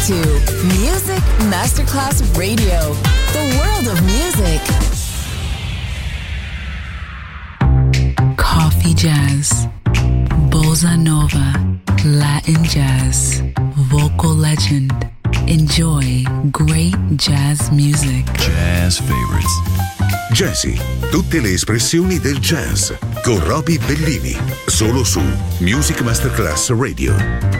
to Music Masterclass Radio, the world of music. Coffee jazz, bossa nova, Latin jazz, vocal legend. Enjoy great jazz music. Jazz favorites. Jazzy, tutte le espressioni del jazz con Roby Bellini, solo su Music Masterclass Radio.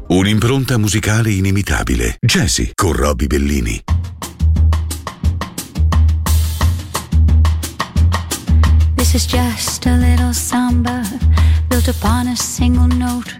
Un'impronta musicale inimitabile. Jazzy con Robbie Bellini. This is just a little samba built upon a single note.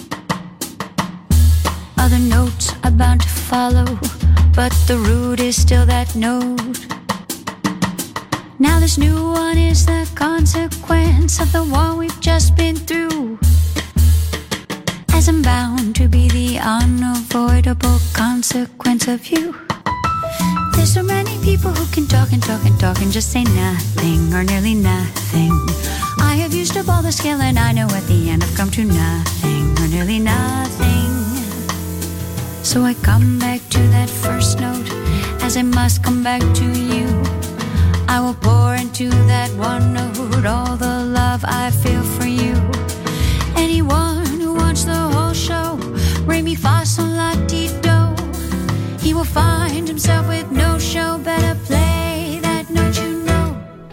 Other notes are bound to follow, but the root is still that note. Now this new one is the consequence of the one we've just been through. As I'm bound to be the unavoidable consequence of you. There's so many people who can talk and talk and talk and just say nothing or nearly nothing. I have used up all the skill and I know at the end I've come to nothing or nearly nothing. So I come back to that first note, as I must come back to you. I will pour into that one note all the love I feel for you. Anyone who wants the whole show, re mi fa sol la ti do, he will find himself with no show. Better play that note, you know.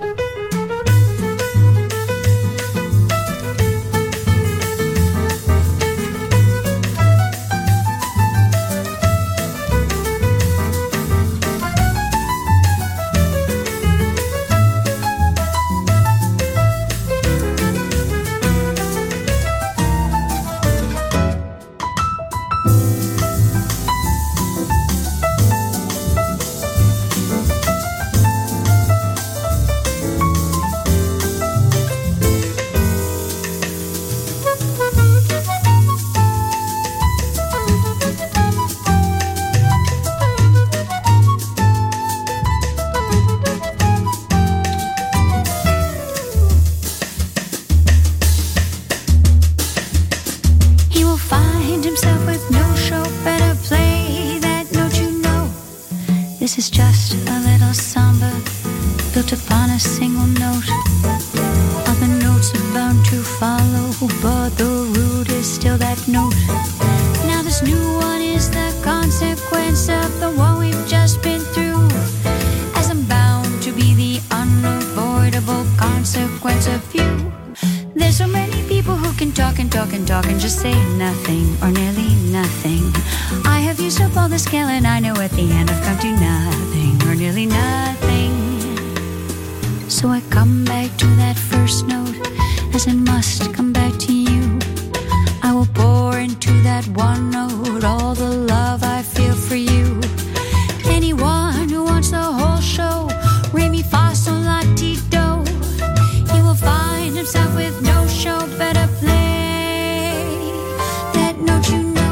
This is just a little samba built upon a single note. Other notes are bound to follow, but the root is still that note. Now this new one is the consequence of the one we've just been through. As I'm bound to be the unavoidable consequence of you. There's so many people who can talk and talk and talk and just say nothing or nearly nothing. I have used up all the skill and I know at the end I've come to nothing or nearly nothing. So I come back to that first note, as I must come back to you. I will pour into that one note all the love I feel for you. Anyone who wants the whole show, re mi fa sol la ti do, he will find himself with no show. Better play that note, you know.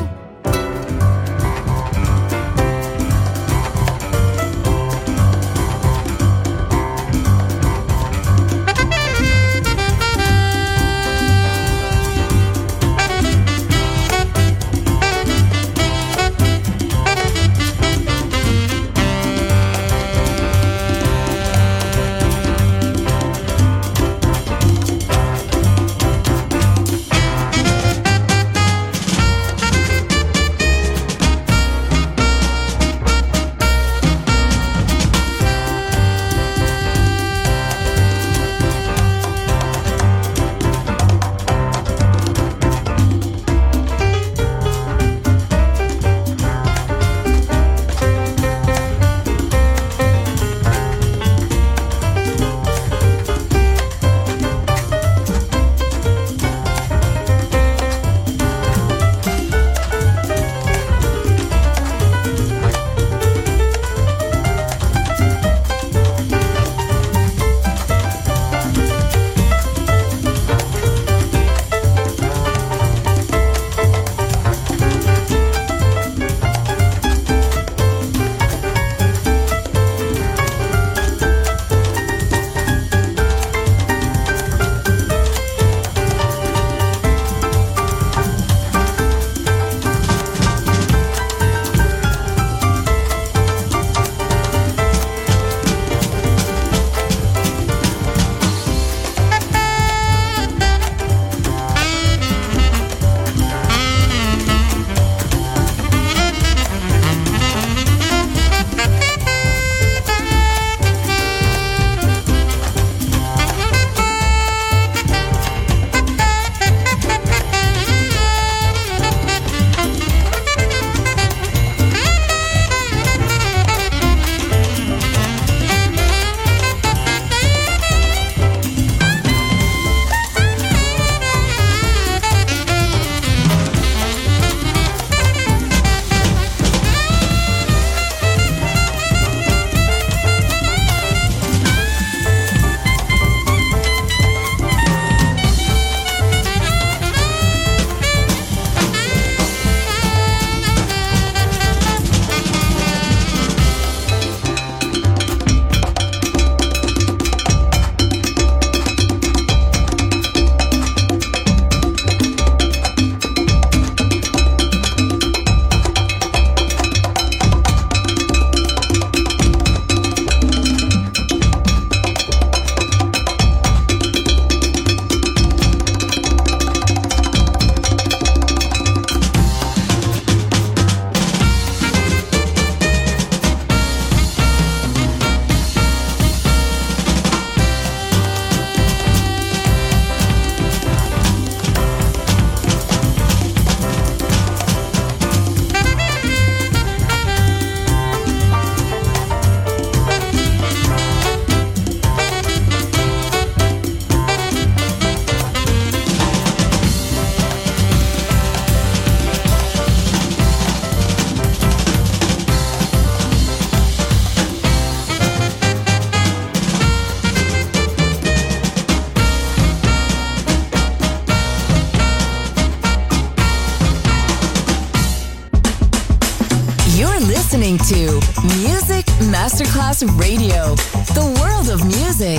to Music Masterclass Radio, the world of music.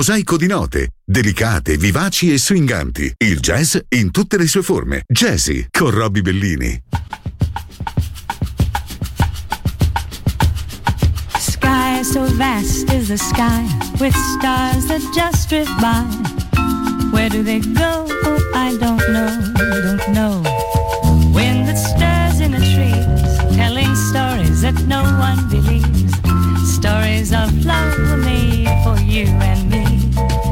mosaico di note, delicate, vivaci e swinganti. Il jazz in tutte le sue forme. Jazzy con Robbie Bellini. Sky so vast is the sky, with stars that just drift by. Where do they go? Oh, I don't know. Wind that stirs in the trees, telling stories that no one believes. Stories of love were made for you and me.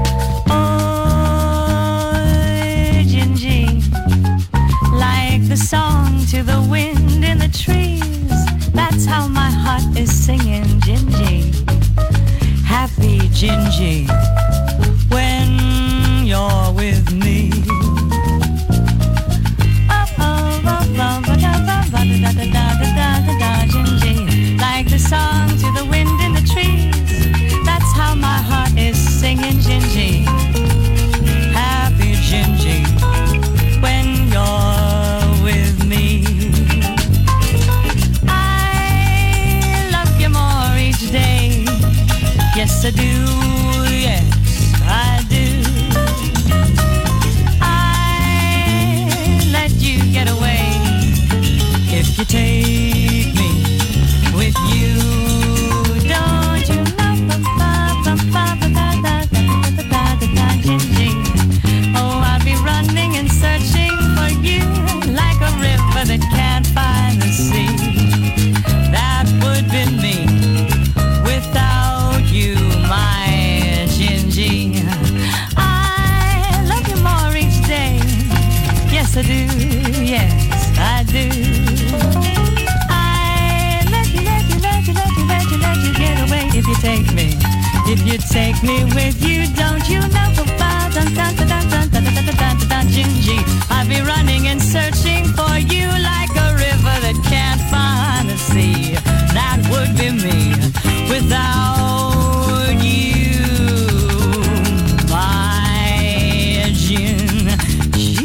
Oh, Gingy, like the song to the wind in the trees. That's how my heart is singing, Gingy. Happy Gingy, when you're with me. Gingy, like the song to the wind in the trees. That's how my heart is singing, Gingy. Happy Gingy, when you're with me. I love you more each day. Yes, I do. Yes, I do. I let you get away if you take me with you. Don't you know? Oh, I'll be running and searching for you like a river that can't find the sea. That would be me without you, my Gingy. I love you more each day. Yes, I do. Yes, I do. I let you get away if you take me. If you take me with you, don't you know? Gingy, I'll be running and searching for you like a river that can't find the sea. That would be me without you, my Gingy.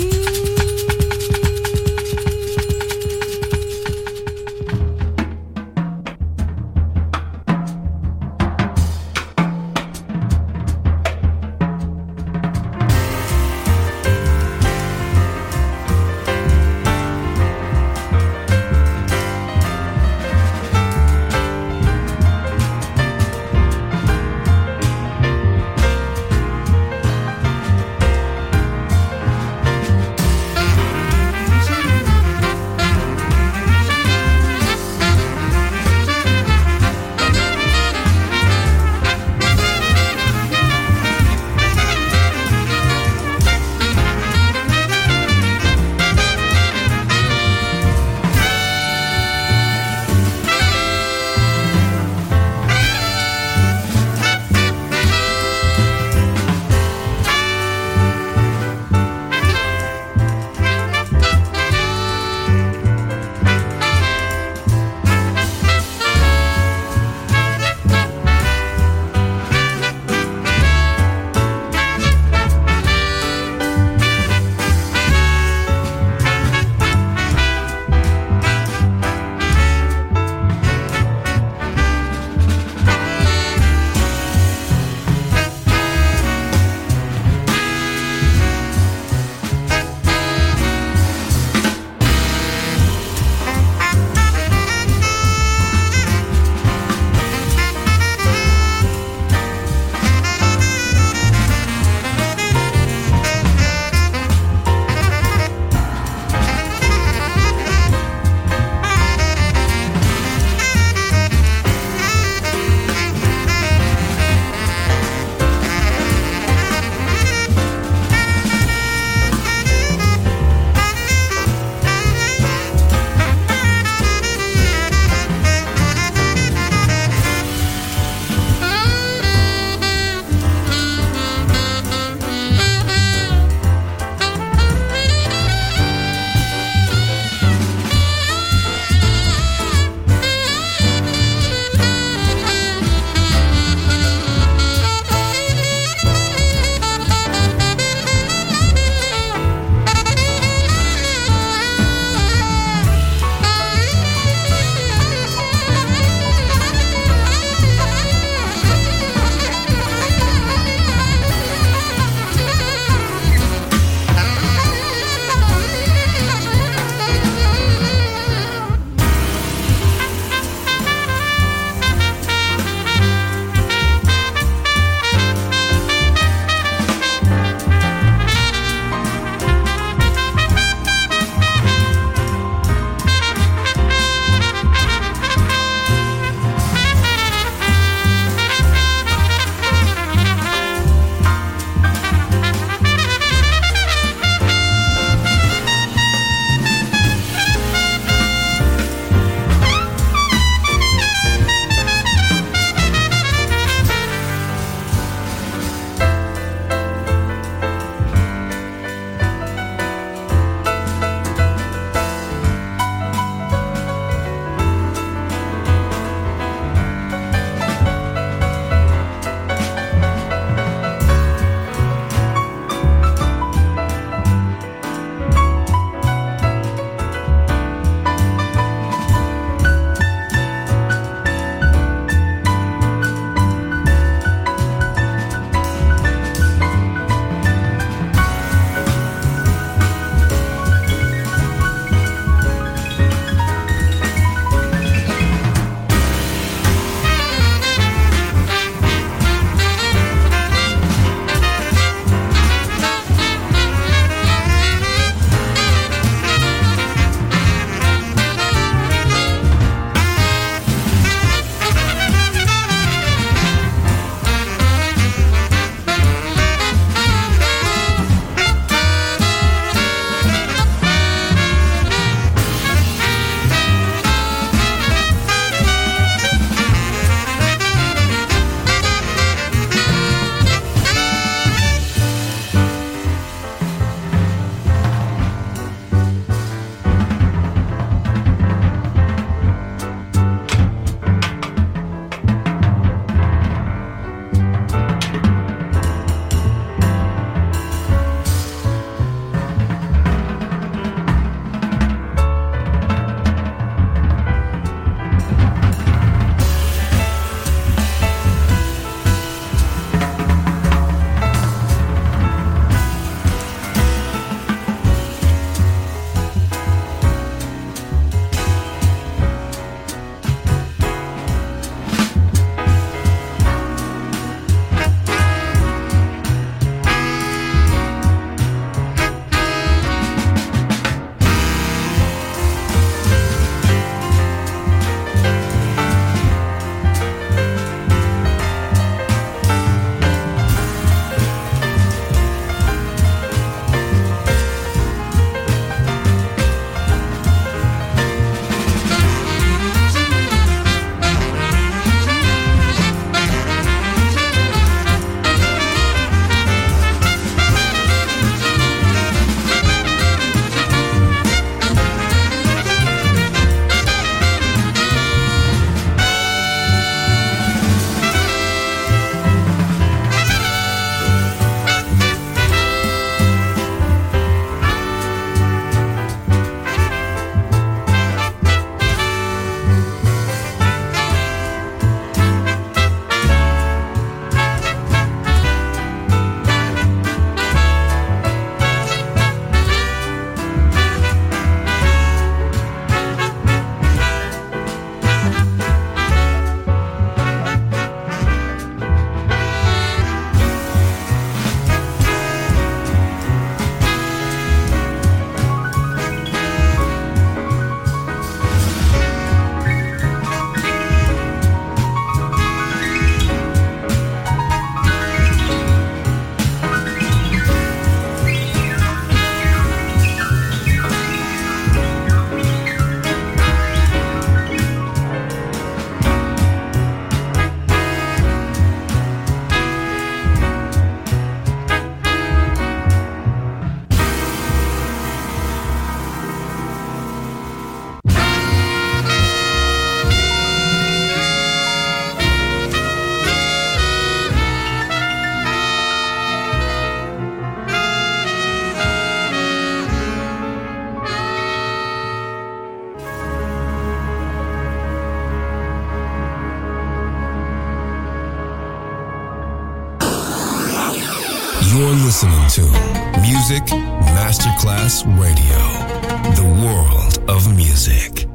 listening to Music Masterclass Radio, the world of music.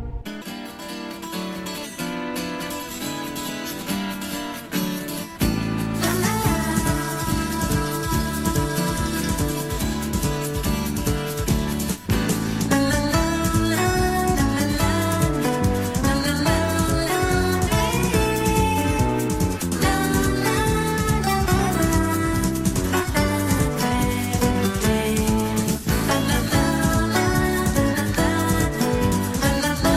La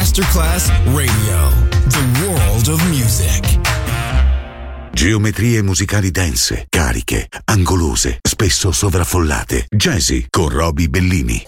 Masterclass Radio, the world of music. Geometrie musicali dense, cariche, angolose, spesso sovraffollate. Jazzy con Roby Bellini.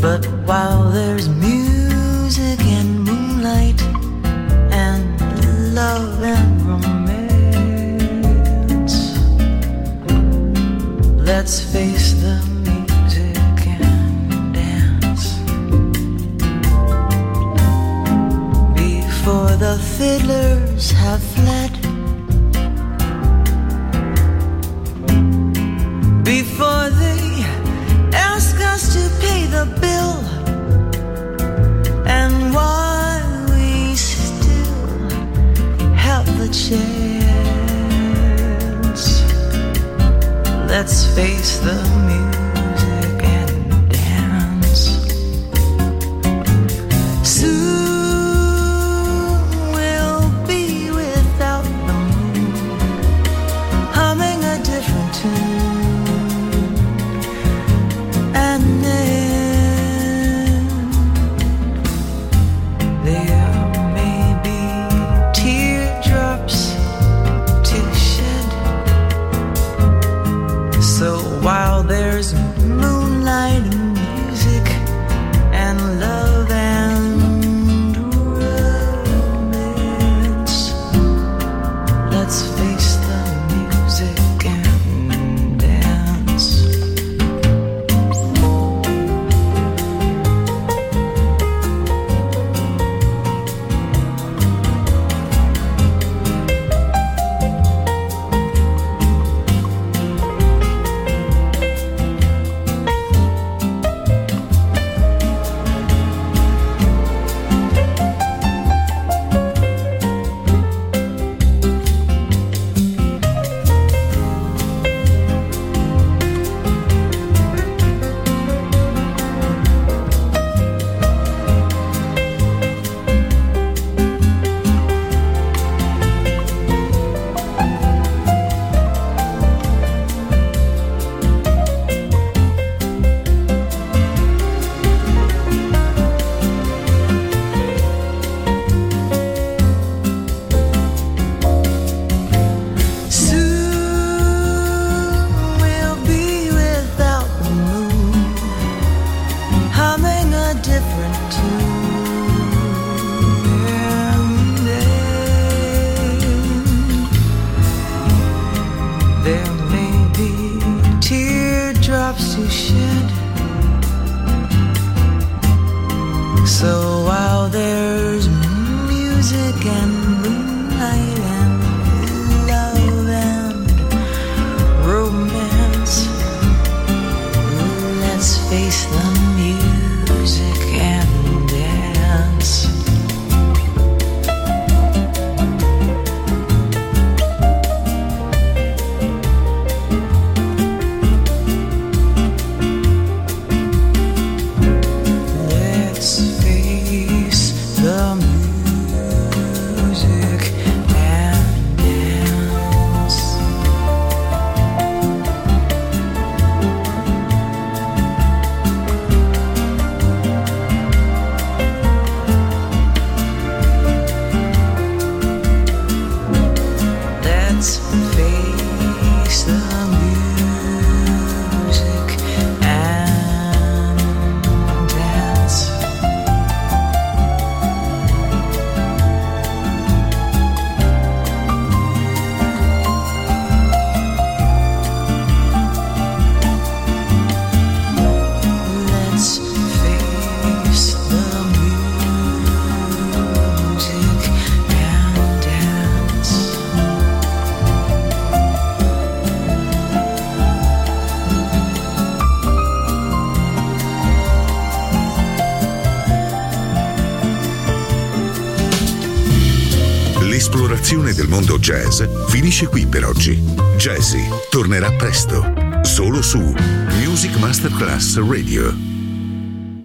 But while there's music and moonlight and love and romance, let's face the music and dance. Before the fiddlers have fled, before they ask us to pay the bill, and while we still have the chance, let's face the music and dance. Soon we'll be without the moon, humming a different tune. And then there may be teardrops to shed. So while there's moonlight and music and love and romance, let's face the music and dance. So while there's music and moonlight and love and romance, let's face the music and dance. L'esplorazione del mondo jazz finisce qui per oggi. Jazzy tornerà presto, solo su Music Masterclass Radio.